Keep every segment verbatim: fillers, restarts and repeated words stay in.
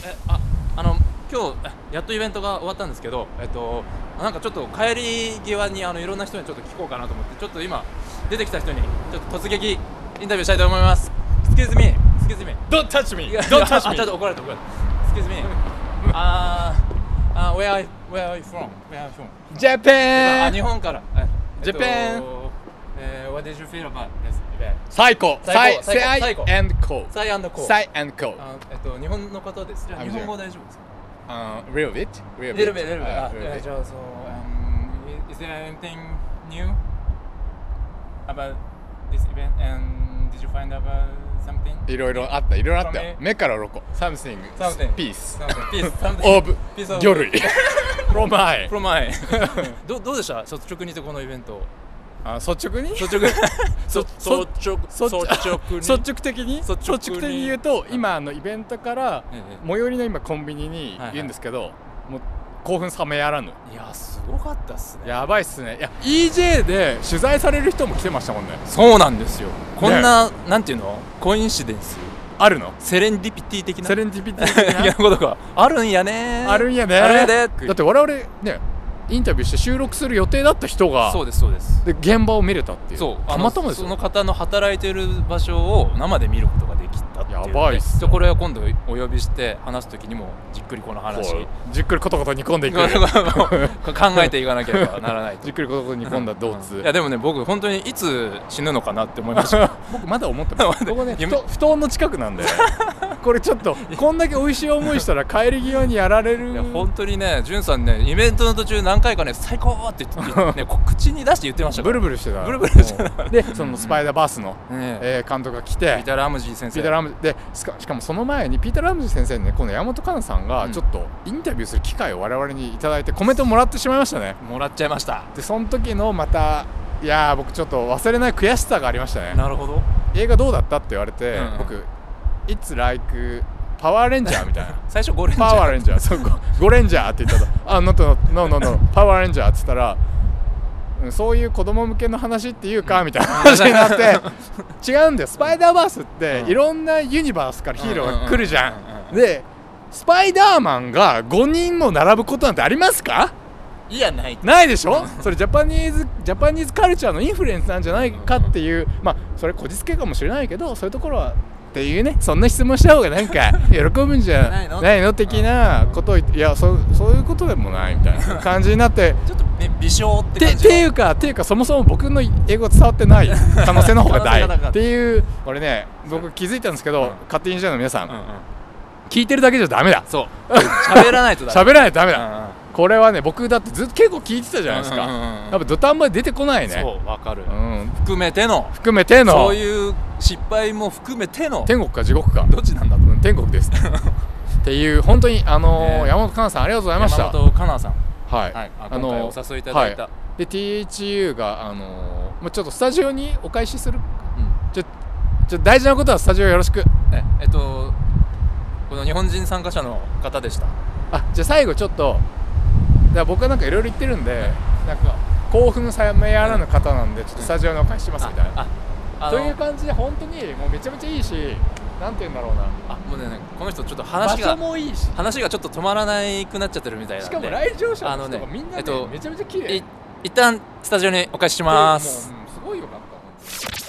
えああの今日やっとイベントが終わったんですけど、えっとなんかちょっと帰り際にあのいろんな人にちょっと聞こうかなと思って、ちょっと今出てきた人にちょっと突撃インタビューしたいと思います。Excuse me, excuse me. Don't touch me. いや Don't touch あ me. ちょっと怒られた怒られた。Excuse me. あーあ where are you, where are you from? Where are you from? あ Japan. 日本から。えっと Japan. えー What did you feel about this event? 最高。 最高最最高最 and cool. サイアンドコー。 最 and cool. あえっと日本の方です。じゃあ I'm 日本語大丈夫ですか？ Uh, little bit. Little Little bit. bit, little bit. Uh, あ little え bit. じゃあそう、um, is there anything new about this event and did you find out something? いろいろあった。いろいろあったよ。 From me? 目から鱗。Something. Something. Peace. Something. Peace. Something. Of Piece of 魚類。From I. From I. どどうでした？率直に言ってこのイベント。 あ、率直に？ 率直。 そそ率直。 そ率直に。 率直的に率直に率直的に言うと、今あのイベントからええ最寄りの今コンビニにいるんですけど、もう興奮冷めやらぬ。 いやすごかったっすね。 やばいっすね。いや イージェー で取材される人も来てましたもんね。 そうなんですよ。こんな、なんていうの？コインシデンス。 あるの？ セレンディピティ的な。 セレンディピティ的いやことがあるんやね。 なあるんやね。 あるんやで。 だって我々ねインタビューして収録する予定だった人がそうですそうです。 で現場を見れたっていう。 そうたまたまですよ。 その方の働いてる場所を生で見ることができたっていうので、 やばいっすねでこれは今度お呼びして話すときにもじっくりこの話こうじっくりコトコト煮込んでいく。 考えていかなければならないと。 じっくりコトコト煮込んだ動物。 いやでもね僕本当にいつ死ぬのかなって思いました僕まだ思ってます。ここね、 夢ふと布団の近くなんでこれちょっとこんだけ美味しい思いしたら帰り際にやられる。 いや本当にねじゅんさんねイベントの途中何回かね最高って言って、ね、こう口に出して言ってましたかブらルブルしてた。 ブルブルしてたでそのスパイダーバースの、 ねえー監督が来てピーター・ラムジー先生ピーター・ラムジーでしかしかもその前にピーター・ラムジー先生にねこの山本香奈さんがちょっとインタビューする機会を我々にいただいてコメントもらってしまいましたね。 もらっちゃいました。 でその時のまたいやー僕ちょっと忘れない悔しさがありましたね。 なるほど。 映画どうだったって言われて、 うんうん僕 It's like パワーレンジャーみたいな最初ゴレンジャーパワーレンジャーそうゴゴレンジャーって言ったとあノットノーノーノーパワーレンジャーって言ったらうんそういう子供向けの話っていうかみたいな話になって違うんだよ。スパイダーバースっていろんなユニバースからヒーローが来るじゃん。でスパイダーマンがごにんも並ぶことなんてありますか？ いやないないでしょ。それジャパニーズジャパニーズカルチャーのインフルエンスなんじゃないかっていうまあそれこじつけかもしれないけどそういうところはっていうねそんな質問した方がなんか喜ぶんじゃないのないの的なことを言っていやそそういうことでもないみたいな感じになってちょっとね微笑ってて感じっていうかっていうかそもそも僕の英語伝わってない可能性の方が大可能性が高いっていうこれね僕気づいたんですけど、 うん勝手にじゃの皆さん、 うんうん聞いてるだけじゃダメだ。 そう喋らないとだ喋らないとダメだ、 うんうんこれはね僕だってずっと結構聞いてたじゃないですか、 うんうんうんうんやっぱ土壇場で出てこないね。 そうわかる、 うん、 含めての含めてのそういう失敗も含めての天国か地獄かどっちなんだとうん天国ですっていう本当にあのーね山本香奈さんありがとうございました。 山本香奈さん、 はい、 はい、ああのー今回お誘いいただいた、 はいで ティーエイチユー があのーまあちょっとスタジオにお返しするうんちょちょ大事なことはスタジオよろしく。 ええっとこの日本人参加者の方でした。 あじゃあ最後ちょっとだから僕はなんかいろいろ言ってるんでなんか興奮冷めやらぬ方なんでちょっとスタジオにお返ししますみたいな、 あああのという感じで本当にもうめちゃめちゃいいしなんて言うんだろうなあもうねこの人ちょっと場話が所もいいし話がちょっと止まらないくなっちゃってるみたいなんでしかも来場者の人あのねがみんなねえっとめちゃめちゃ綺麗い一旦スタジオにお返しします。 もう、うんすごいよかった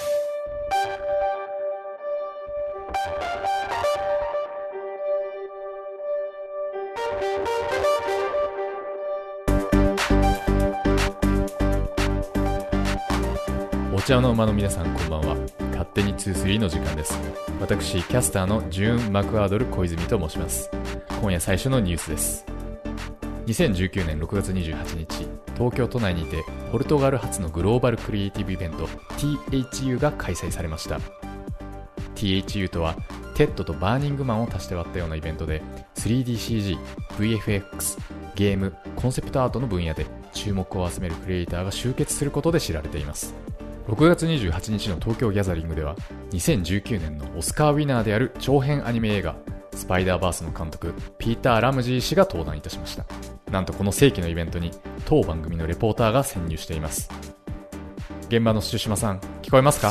お茶の間の皆さんこんばんは。勝手ににじゅうさんの時間です。私キャスターのジューン・マクアードル小泉と申します。今夜最初のニュースです。にせんじゅうきゅうねんろくがつにじゅうはちにち東京都内にてポルトガル発のグローバルクリエイティブイベント ティーエイチユー が開催されました。 ティーエイチユー とはテッドとバーニングマンを足して割ったようなイベントで スリーディーシージー、ブイエフエックス、ゲーム、コンセプトアートの分野で注目を集めるクリエイターが集結することで知られています。ろくがつにじゅうはちにちの東京ギャザリングではにせんじゅうきゅうねんのオスカーウィナーである長編アニメ映画スパイダーバースの監督ピーター・ラムジー氏が登壇いたしました。なんとこの世紀のイベントに当番組のレポーターが潜入しています。現場の朱島さん聞こえますか？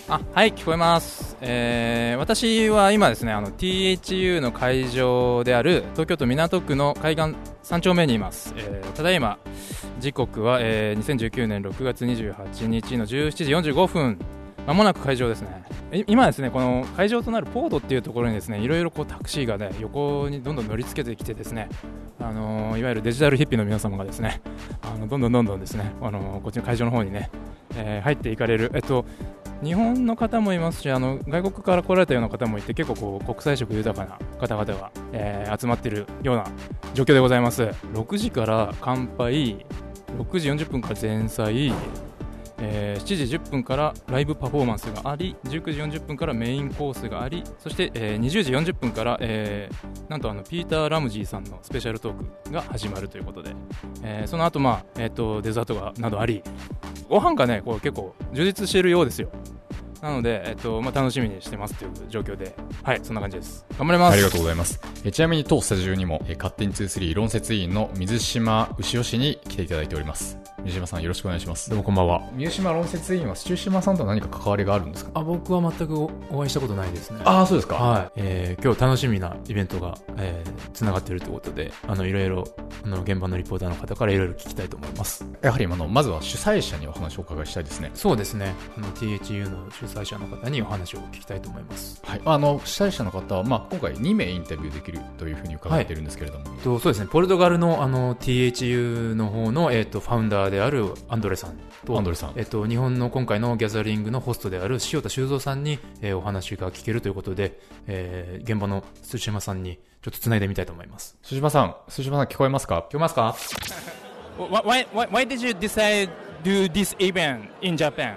あ、はい、聞こえます。えー、私は今ですね、あの ティーエイチユー の会場である東京都港区の海岸さん丁目にいます。えー、ただいま時刻は、えー、にせんじゅうきゅうねんろくがつにじゅうはちにちのじゅうしちじよんじゅうごふん、まもなく会場ですね。今ですね、この会場となるポードっていうところにですね、いろいろこうタクシーがね、横にどんどん乗り付けてきてですね、あのー、いわゆるデジタルヒッピーの皆様がですね、あのどんどんどんどんですね、あのー、こっちの会場の方にね、えー、入っていかれる、えっと日本の方もいますし、あの外国から来られたような方もいて、結構こう国際色豊かな方々が、えー、集まっているような状況でございます。ろくじから乾杯、ろくじよんじゅっぷんから前菜、えー、しちじじゅっぷんからライブパフォーマンスがあり、じゅうくじよんじゅっぷんからメインコースがあり、そして、えー、にじゅうじよんじゅっぷんから、えー、なんとあのピーター・ラムジーさんのスペシャルトークが始まるということで、えー、その後、まあえー、とデザートがなどあり、ご飯がねこう結構充実しているようですよ。なので、えっとまあ、楽しみにしてますという状況で、はい、そんな感じです。頑張ります。 ありがとうございます。えちなみに当スタジオにも、え勝手ににじゅうさん論説委員の水島牛尾氏に来ていただいております。水島さん、よろしくお願いします。 どうもこんばんは。 水島論説委員は土島さんと何か関わりがあるんですか？ あ、僕は全く お, お会いしたことないですね。 ああ、そうですか。 はい、えー、今日楽しみなイベントが、えー、つながっているということで、あのいろいろあの現場のリポーターの方からいろいろ聞きたいと思います。 やはりあのまずは主催者にお話をお伺いしたいですね。 そうですね、あの ティーエイチユー の主催者の方にお話を聞きたいと思います。 はい、あの主催者の方は、まあ、今回にめいインタビューできるというふうに伺っているんですけれども、 はい、とそうですね、ポルトガルの、あの ティーエイチユー の方の、えー、とファウンダーであるアンドレさんと、 アンドレさん、 えー、と日本の今回のギャザリングのホストである塩田修造さんに、えー、お話が聞けるということで、えー、現場の土島さんにちょっとつないでみたいと思います。 土島さん、土島さん聞こえますか？ 聞こえますか？ why, why, why did you decide to do this event in Japan?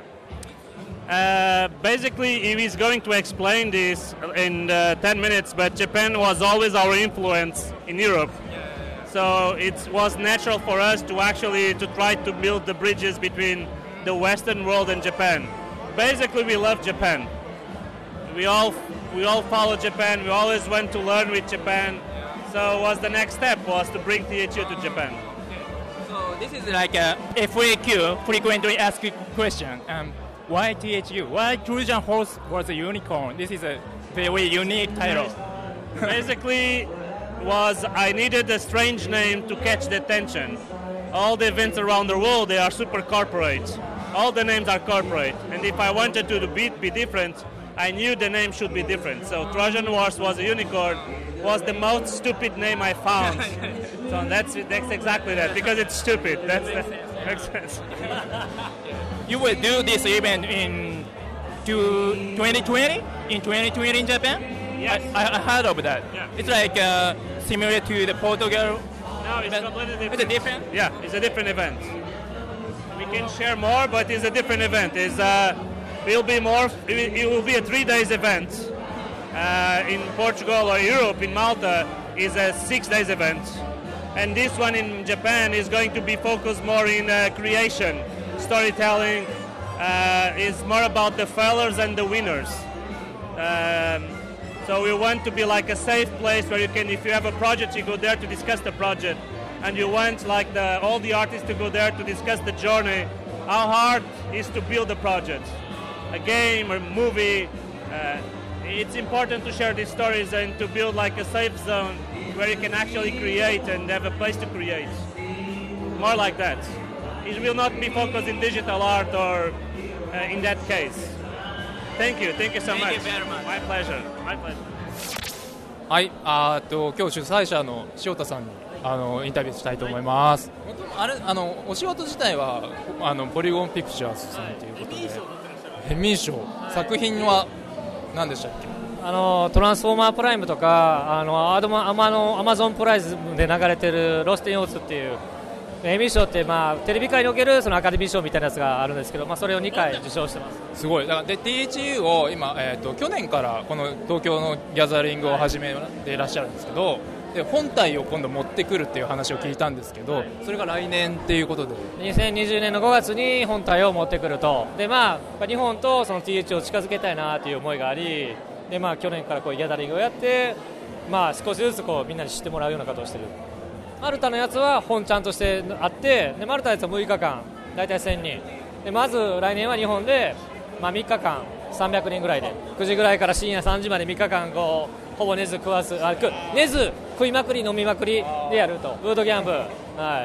Uh, basically, he is going to explain this in uh, ten minutes, but Japan was always our influence in Europe. So it was natural for us to actually to try to build the bridges between the Western world and Japan. Basically, we love Japan. We all we all follow Japan. We always went to learn with Japan. So was the next step was to bring T H U to Japan. So this is like a F A Q, frequently asked question. Um, why T H U? Why Trojan horse was a unicorn? This is a very unique title. Basically, was I needed a strange name to catch the attention. All the events around the world, they are super corporate. All the names are corporate. And if I wanted to be, be different, I knew the name should be different. So Trojan horse was a unicorn, was the most stupid name I found. So that's that's exactly that, because it's stupid. That's, that makes sense. You will do this event in twenty twenty? In twenty twenty in Japan? Yes. I, I heard of that. Yeah. It's like uh, similar to the Portugal. No, it's event. completely different. It's a different? Yeah, it's a different event. We can share more, but it's a different event. It's uh, will be more. It will, it will be a three days event. Uh, in Portugal or Europe, in Malta, is a six days event, and this one in Japan is going to be focused more in uh, creation, storytelling. Uh, is more about the failures and the winners. Um, So we want to be like a safe place where you can, if you have a project, you go there to discuss the project, and you want like the, all the artists to go there to discuss the journey, how hard it is to build a project, a game or movie. Uh, it's important to share these stories and to build like a safe zone where you can actually create and have a place to create. More like that. It will not be focused in digital art or uh, in that case. Thank you, thank you so much. Thank you very much. My pleasure, my pleasure. はい、あーと今日主催者の塩田さんにあのインタビューしたいと思います。あれあのお仕事自体はあのポリゴンピクチャーズさんということで、ヘミー賞、作品は何でしたっけ？ あのトランスフォーマープライムとかあのアドマアマのアマゾンプライズで流れてるロステンオーツっていうエミー賞って、まあ、テレビ界におけるそのアカデミー賞みたいなやつがあるんですけど、まあ、それをにかい受賞してます。 すごい。だからで ティーエイチユー を今、えー、と去年からこの東京のギャザリングを始めていらっしゃるんですけど、で本体を今度持ってくるっていう話を聞いたんですけど、それが来年っていうことでにせんにじゅうねんのごがつに本体を持ってくると。で、まあ、日本とその ティーエイチユー を近づけたいなという思いがあり、で、まあ、去年からこういうギャザリングをやって、まあ、少しずつこうみんなに知ってもらうようなことをしている。マルタのやつは本ちゃんとしてあって、でマルタのやつはむいかかん、大体せんにんで、まず来年は日本で、まあ、みっかかんさんびゃくにんぐらいでくじぐらいから深夜さんじまでみっかかんこうほぼ寝ず食わずあく寝ず食いまくり飲みまくりでやるとブートキャンプ、はい、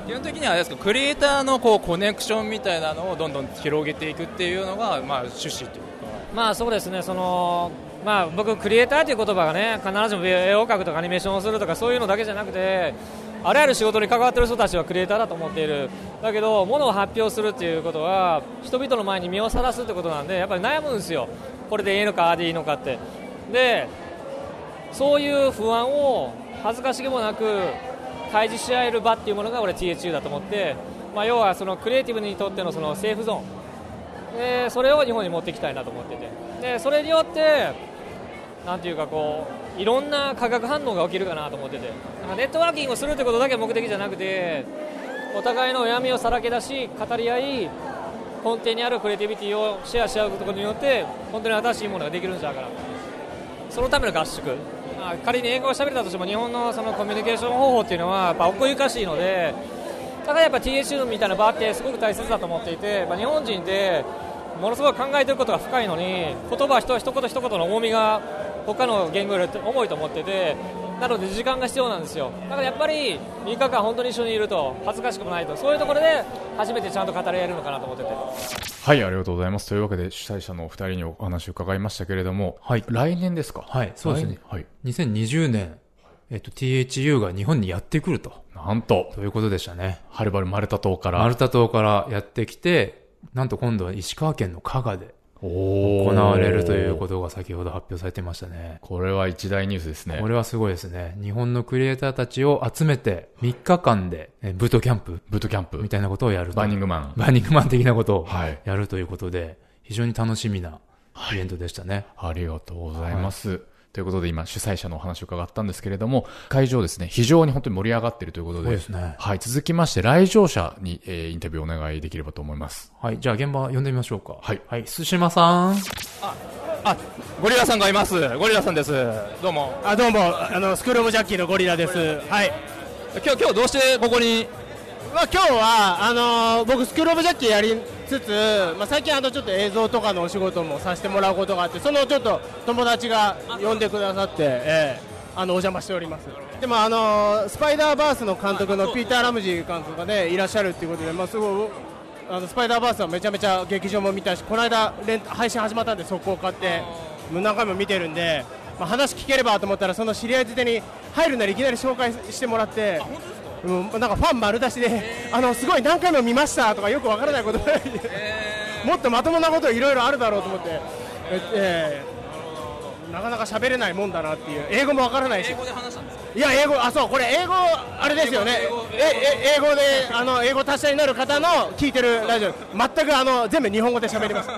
基本的にはあれですか、クリエイターのこうコネクションみたいなのをどんどん広げていくっていうのが、まあ、趣旨というか。 まあそうですね、そのまあ、僕クリエイターという言葉がね必ずしも絵を描くとかアニメーションをするとかそういうのだけじゃなくてあらゆる仕事に関わっている人たちはクリエイターだと思っている。だけど物を発表するということは人々の前に身をさらすということなんでやっぱり悩むんですよ。これでいいのかああでいいのかって。でそういう不安を恥ずかしげもなく開示し合える場っていうものが俺 ティーエイチユー だと思って、まあ、要はそのクリエイティブにとってのそのセーフゾーンでそれを日本に持っていきたいなと思ってて、でそれによってなんていうかこういろんな化学反応が起きるかなと思ってて、なんかネットワーキングをするということだけが目的じゃなくてお互いの闇をさらけ出し語り合い根底にあるクリエイティビティをシェアし合うことによって本当に新しいものができるんじゃないかな。そのための合宿、まあ、仮に英語を喋れたとしても日本のそのコミュニケーション方法っていうのはやっぱ奥ゆかしいので、だからやっぱ ティーエイチユー みたいな場ってすごく大切だと思っていて、まあ、日本人ってものすごく考えていることが深いのに言葉一言一言の重みが他の言語より重いと思ってて、なので時間が必要なんですよ。だからやっぱりみっかかん本当に一緒にいると恥ずかしくもないと、そういうところで初めてちゃんと語り合えるのかなと思ってて。 はい、ありがとうございます。というわけで主催者のお二人にお話を伺いましたけれども、はい、来年ですか？ はい、そうですね。 はい、 にせんにじゅうねん、えっと ティーエイチユー が日本にやってくると、 なんとということでしたね。 はるばるマルタ島からマルタ島からやってきて、なんと今度は石川県の加賀で行行われるということが先ほど発表されてましたね。 これは一大ニュースですね。 これはすごいですね。日本のクリエイターたちを集めてみっかかんでえブートキャンプブートキャンプみたいなことをやると。 バーニングマンバーニングマン的なことをはいやるということで、非常に楽しみなイベントでしたね。 ありがとうございます。はい、ということで今主催者のお話を伺ったんですけれども、会場ですね、非常に本当に盛り上がっているということで、 そうですね。 はい、続きまして来場者に、えー、インタビューをお願いできればと思います。 はい、じゃあ現場呼んでみましょうか。 はい、 はい、須島さん。 あ、あ、ゴリラさんがいます。ゴリラさんです。どうも。 あ、どうも、あのスクールオブジャッキーのゴリラです。はい。 今日今日どうしてここに？ まあ今日はあのー、僕スクールオブジャッキーやりつつ、まあ最近あのちょっと映像とかのお仕事もさせてもらうことがあって、そのちょっと友達が呼んでくださって、えー、あのお邪魔しております。でもあのー、スパイダーバースの監督のピーター・ラムジー監督がねいらっしゃるっていうことで、まあすごいあのスパイダーバースはめちゃめちゃ劇場も見たし、この間レン配信始まったんで速攻買ってもう何回も見てるんで、まあ、話聞ければと思ったらその知り合いづてに入るなりいきなり紹介してもらって。うん、なんかファン丸出しで、あのすごい何回も見ましたとかよくわからないことばかりで、もっとまともなこといろいろあるだろうと思って、ええー、なかなか喋れないもんだなっていう、英語もわからないし、 英語で話したんですか？ いや英語、あ、そう、これ英語あれですよね、ええ英語であの英語達者になる方の聞いてるラジオ、全くあの全部日本語で喋ります。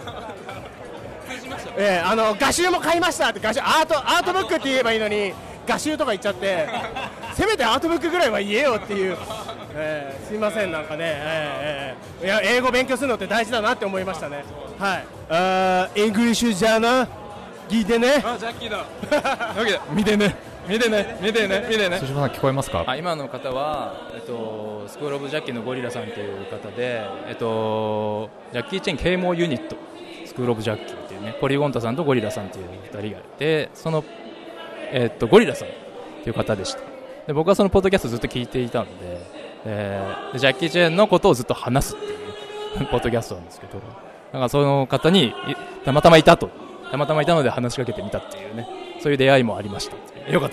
えー、あの画集も買いましたって画集アートアートブックって言えばいいのに画集とか言っちゃって、せめてアートブックぐらいは言えよっていう、えー、すいません、なんかね、えーえー、いや英語勉強するのって大事だなって思いましたね。はい、あーイングリッシュじゃな聞いてね。 あ、ジャッキーだ。見てね見てね見てね見てね。 須島さん聞こえますか？ あ、今の方は、えっと、スクールオブジャッキーのゴリラさんという方で、えっと、ジャッキーチェン啓蒙ユニットスクールオブジャッキーというね、ポリゴンタさんとゴリラさんというふたりがいて、そのえっと、ゴリラさんという方でした。で僕はそのポッドキャストずっと聞いていたので、えー、でジャッキー・チェンのことをずっと話すっていうポッドキャストなんですけど、なんかその方にたまたまいたとたまたまいたので話しかけてみたっていうね、そういう出会いもありました。よかった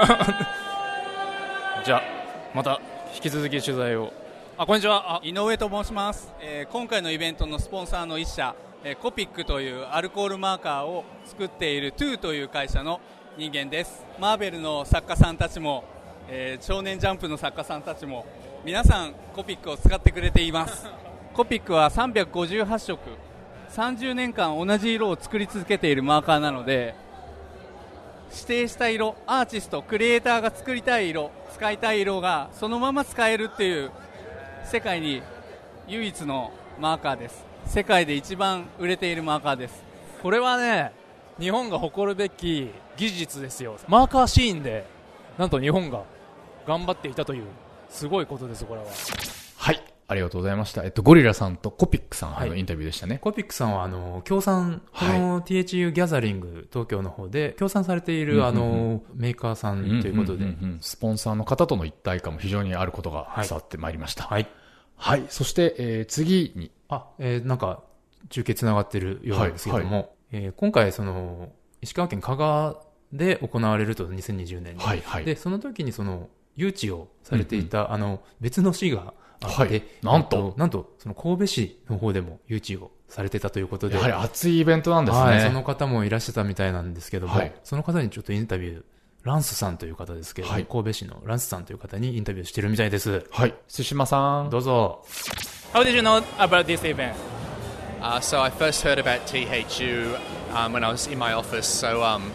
じゃあまた引き続き取材を。あ、こんにちは。 井上と申します、えー、今回のイベントのスポンサーの一社、えー、コピックというアルコールマーカーを作っているトゥーという会社の人間です。マーベルの作家さんたちも、えー、少年ジャンプの作家さんたちも皆さんコピックを使ってくれています。コピックはさんびゃくごじゅうはちしょくさんじゅうねんかん同じ色を作り続けているマーカーなので、指定した色、アーティストクリエイターが作りたい色、使いたい色がそのまま使えるっていう世界に唯一のマーカーです。世界で一番売れているマーカーです。 これはね、日本が誇るべき技術ですよ。マーカーシーンでなんと日本が頑張っていたというすごいことです。これははい、 ありがとうございました。えっと、ゴリラさんとコピックさんのはいインタビューでしたね。 コピックさんは、あの、協賛、こはいの ティーエイチユー ギャザリング東京の方で、協賛されている、 うんうんうんあの、メーカーさんということで、 んんんんスポンサーの方との一体感も非常にあることが伝わってまいりました。はい。 はい。 はい。そして、えー次に、 あ、えーなんか、中継つながってるようなんですけども、 はいえー今回、その、石川県加賀で行われると、にせんにじゅうねんに。 はいはいで、その時にその、誘致をされていた、あの、別の市があって、 はいなんとえっなんと、その神戸市の方でも誘致をされてたということで、 やはり熱いイベントなんですね。 はい、その方もいらっしゃったみたいなんですけども、 はいその方にちょっとインタビュー、ランスさんという方ですけども、 はい神戸市のランスさんという方にインタビューしてるみたいです。 はい。津島さん。 どうぞ。 How did you know about this event? Uh, so I first heard about T H U um, when I was in my office. So um,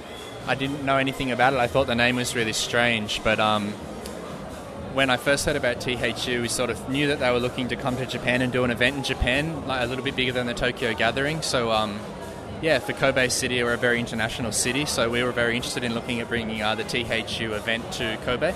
I didn't know anything about it. I thought the name was really strange. But um, when I first heard about T H U, we sort of knew that they were looking to come to Japan and do an event in Japan, like a little bit bigger than the Tokyo Gathering. So um, yeah, for Kobe City, we're a very international city. So we were very interested in looking at bringing uh, the T H U event to Kobe.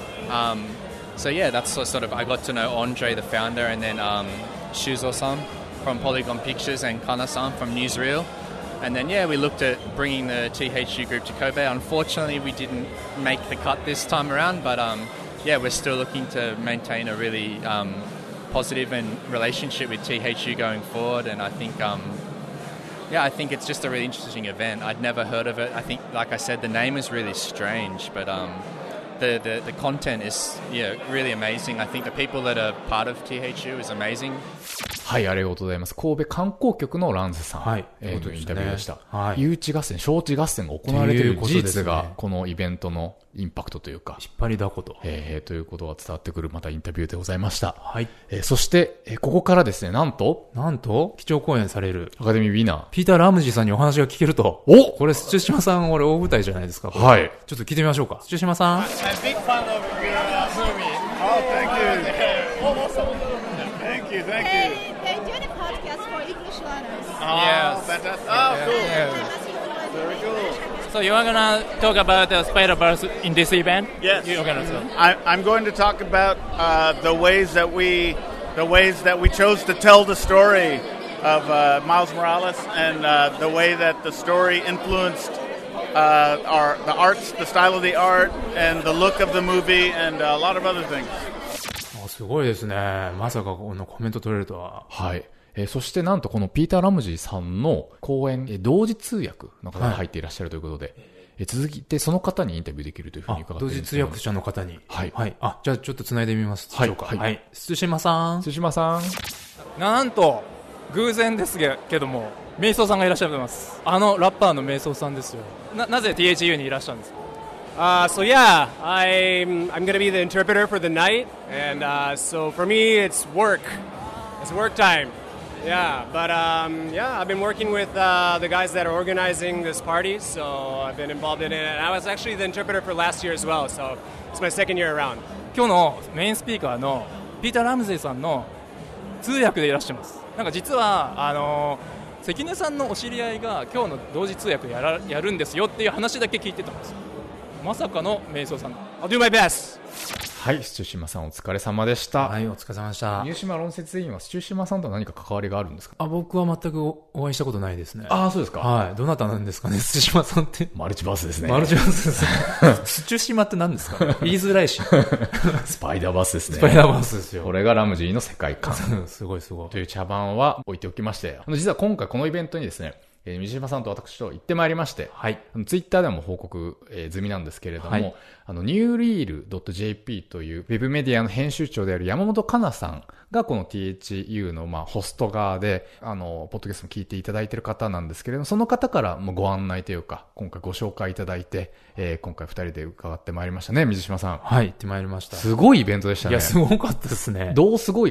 Um, so yeah, that's sort of, I got to know Andre, the founder, and then um, Shuzo-san from Polygon Pictures and Kana-san from Newsreel. And then, yeah, we looked at bringing the T H U group to Kobe. Unfortunately, we didn't make the cut this time around, but um, yeah, we're still looking to maintain a really um, positive and relationship with T H U going forward. And I think, um, yeah, I think it's just a really interesting event. I'd never heard of it. I think, like I said, the name is really strange, but um, the, the the content is yeah really amazing. I think the people that are part of T H U is amazing. はい、ありがとうございます。神戸観光局のランスさん、 はいえー、のインタビューでした。 はい、 誘致合戦、招致合戦が行われている事実が、 ね、 このイベントのインパクトというか、 引っ張りだこと、 えー、ということが伝わってくるまたインタビューでございました。 はい。 えー、そして、えー、ここからですね、なんと、 なんと、基調講演されるアカデミーウィナー、 ピーター・ラムジーさんにお話が聞けると。 おこれ、土島さん、俺大舞台じゃないですか。 はい。 ちょっと聞いてみましょうか。土島さん。 I'm big fan of your uh, movie. Oh, thank you. Thank you, thank you. They, they're doing a podcast for English learners. Oh, Yes. fantastic. Oh, Yeah. cool. Yeah. Very cool. So you are gonna talk about the Spider-Verse in this event? Yes. You're gonna talk. I, I'm going to talk about uh, the ways that we, the ways that we chose to tell the story of uh, Miles Morales, and uh, the way that the story influenced uh, our the arts, the style of the art, and the look of the movie, and uh, a lot of other things. すごいですね。まさかこのコメント取れるとは。 はい。えー、そしてなんとこのピーター・ラムジーさんの講演、えー、同時通訳の方が入っていらっしゃるということで、はい、えー、続いてその方にインタビューできるというふうに伺っています。 同時通訳者の方に。 はい。 はい。あ、じゃあちょっと繋いでみますでしょうか。はい。はい。津島さん。 津島さん。 なんと、偶然ですけども、メイソーさんがいらっしゃいます。あのラッパーのメイソーさんですよ。な、なぜ ティーエイチユー にいらっしゃるんですか ？Uh, so yeah, I'm I'm gonna be the interpreter for the night, and uh, so for me it's work, it's work time. Yeah, but um, yeah, I've been working with uh, the guys that are organizing this party, so I've been involved in it. And I was actually the interpreter for last year as well, so it's my second year around. 今日のメインスピーカーのピーター・ラムゼイさんの通訳でいらっしゃいます。なんか実はあの関根さんのお知り合いが今日の同時通訳やらやるんですよっていう話だけ聞いてたんですよ。まさかのメイソーさん。 I'll do my best. はい、スチューシマさんお疲れ様でした。 はい、お疲れ様でした。 入島論説委員はスチューシマさんと何か関わりがあるんですか？ あ、僕は全くお会いしたことないですね。 ああ、そうですか。 はい。どなたなんですかね、スチューシマさんって。 マルチバースですね。 マルチバースですね。スチューシマって何ですか？言いづらいし。 スパイダーバースですね。 スパイダーバースですよ。 これがラムジーの世界観。 すごいすごい。 という茶番は置いておきまして、実は今回このイベントにですね、えー、水島さんと私と行ってまいりまして、はい、ツイッターでも報告、えー、済みなんですけれども、はい、あの、ニューリール ドットジェーピー というウェブメディアの編集長である山本香奈さんがこの ティーエイチユー のまあホスト側で、あの、ポッドキャストも聞いていただいている方なんですけれども、その方からもご案内というか、今回ご紹介いただいて、えー、今回二人で伺ってまいりましたね、水島さん。 はい、行ってまいりました。 すごいイベントでしたね。 いや、すごかったですね。 どうすごいかって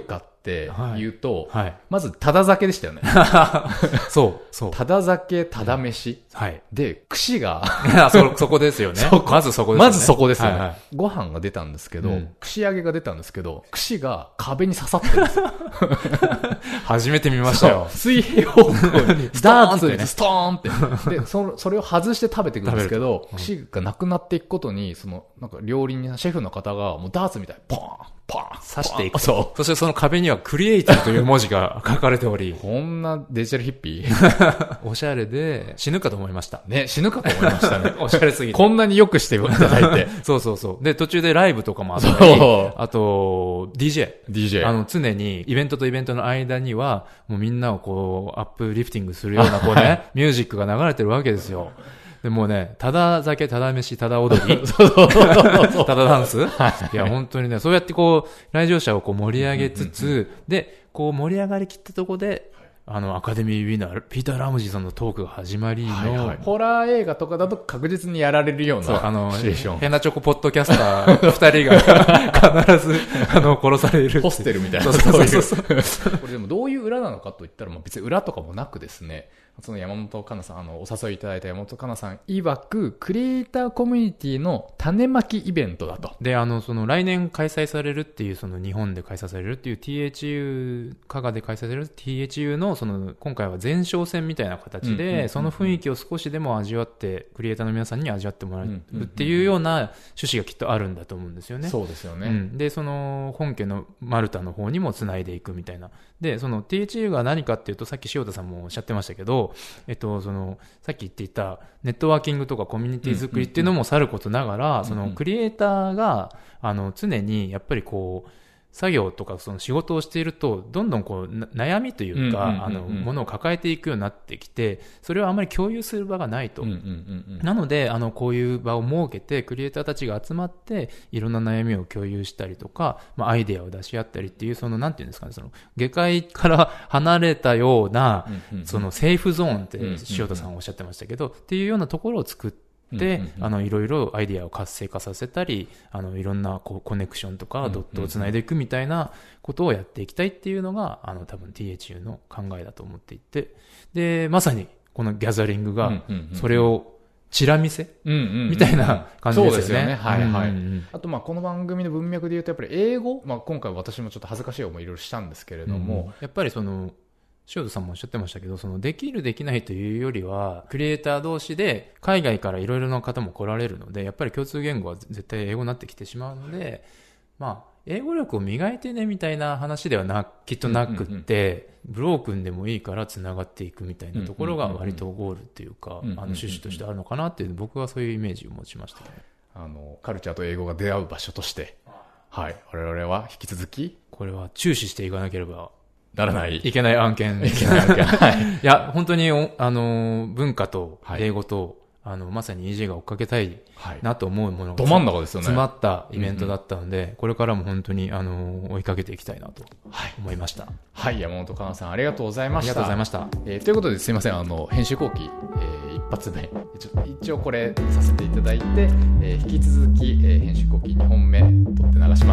って言うと、 はいはい、 まずただ酒でしたよね。 そうそう。 ただ酒、ただ飯。 はい。 で、串がそ、そこですよね。まずそこですよね。 まずそこですよね。 はいはい、 ご飯が出たんですけど、うん、串揚げが出たんですけど、串が壁に刺さってるんですよ。 初めて見ましたよ。 水平方向にダーツにストーンって。で、そ、それを外して食べていくんですけど、串がなくなっていくことに、その、なんか料理人、シェフの方がもうダーツみたいにポーンパーン刺していく。そう。そしてその壁にはクリエイティブという文字が書かれており。 こんなデジタルヒッピーおしゃれで死ぬかと思いました。 ね、死ぬかと思いましたね。 おしゃれすぎて。 こんなに良くしていただいて。 そうそうそう。で、途中でライブとかもあったり、あと、ディージェー。 ディージェー。 あの、常にイベントとイベントの間には、もうみんなをこう、アップリフティングするようなこうね、ミュージックが流れてるわけですよ。でもうね、ただ酒、ただ飯、ただ踊りただダンス、はい、いや、本当にね、そうやってこう、来場者をこう盛り上げつつ、うんうんうん、で、こう盛り上がりきったところで、あの、アカデミーウィナー、ピーター・ラムジーさんのトークが始まりの、はいはい、 ホラー映画とかだと確実にやられるような、 そう、あの、 シチュエーション。 変なチョコポッドキャスター二人が必ず、あの、殺される。 ホステルみたいな。 そうそうそうそう。 これでもどういう裏なのかと言ったら、まあ、別に裏とかもなくですね、その山本香奈さん、あの、お誘いいただいた山本香奈さん曰く、クリエイターコミュニティの種まきイベントだと。 で、あの、その来年開催されるっていう、その日本で開催されるっていう ティーエイチユー、加賀で開催される ティーエイチユー の、その、今回は前哨戦みたいな形で、その雰囲気を少しでも味わって、クリエイターの皆さんに味わってもらえるっていうような趣旨がきっとあるんだと思うんですよね。 そうですよね。 うん、で、その、本家のマルタの方にも繋いでいくみたいな。で、その ティーエイチユー が何かっていうと、さっき塩田さんもおっしゃってましたけど、えっと、その、さっき言っていたネットワーキングとかコミュニティ作りっていうのもさることながら、そのクリエイターが、あの、常にやっぱりこう、作業とかその仕事をしていると、どんどんこう、悩みというか、あの、ものを抱えていくようになってきて、それをあまり共有する場がないと。なので、あの、こういう場を設けて、クリエイターたちが集まって、いろんな悩みを共有したりとか、まあ、アイデアを出し合ったりっていう、その、なんていうんですかね、その、下界から離れたような、その、セーフゾーンって、塩田さんおっしゃってましたけど、っていうようなところを作って、で、あの、いろいろアイディアを活性化させたり、あの、いろんなこうコネクションとかドットをつないでいくみたいなことをやっていきたいっていうのが、あの、多分 ティーエイチユー の考えだと思っていて、で、まさにこのギャザリングが、それをチラ見せみたいな感じですよね。そうですよね。 はいはい。あと、まあ、この番組の文脈で言うと、やっぱり英語、まあ、今回私もちょっと恥ずかしい思いいろいろしたんですけれども、 うん、やっぱりその、塩田さんもおっしゃってましたけど、そのできるできないというよりは、クリエイター同士で海外からいろいろな方も来られるので、やっぱり共通言語は絶対英語になってきてしまうので、まあ、英語力を磨いてねみたいな話ではな、きっとなくって、ブロークンでもいいから繋がっていくみたいなところが割とゴールっていうか、あの趣旨としてあるのかなっていう、僕はそういうイメージを持ちましたね。 あの、カルチャーと英語が出会う場所として、はい、我々は引き続き、 これは注視していかなければ、 ならない。 いけない案件。 いけない案件。はい。 いや、本当に、あの、文化と英語と、はい、あの、まさに イージェー が追っかけたいなと思うものが、 ど真ん中ですよね。 詰まったイベントだったので、うんうん、これからも本当に、あの、追いかけていきたいなと思いました。 はい、はい、山本香奈さん、ありがとうございました。 ありがとうございました。 えー、ということで、すいません、あの、編集後期、えー、一発目、ちょ一応これさせていただいて、えー、引き続き、えー、編集後期にほんめ、撮って流します。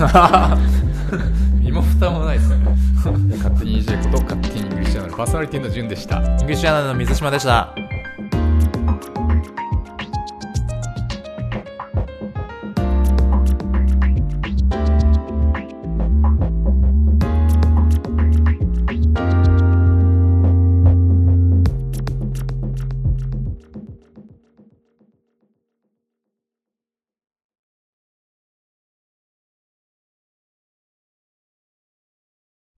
身も蓋もないですね。 勝手に イージェー こと勝手にイングリッシュアナルパーソナリティの順でした。 イングリッシュアナルの水島でした。